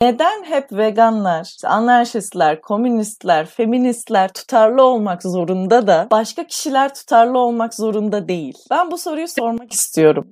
Neden hep veganlar, işte anarşistler, komünistler, feministler tutarlı olmak zorunda da başka kişiler tutarlı olmak zorunda değil? Ben bu soruyu sormak istiyorum.